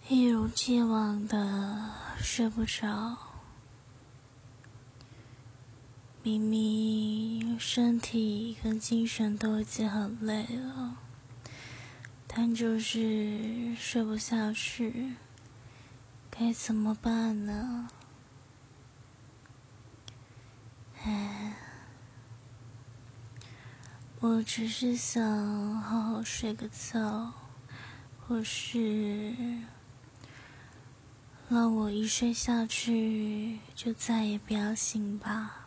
一如既往的睡不着，明明身体跟精神都已经很累了，但就是睡不下去，该怎么办呢？我只是想好好睡个觉，或是让我一睡下去就再也不要醒吧。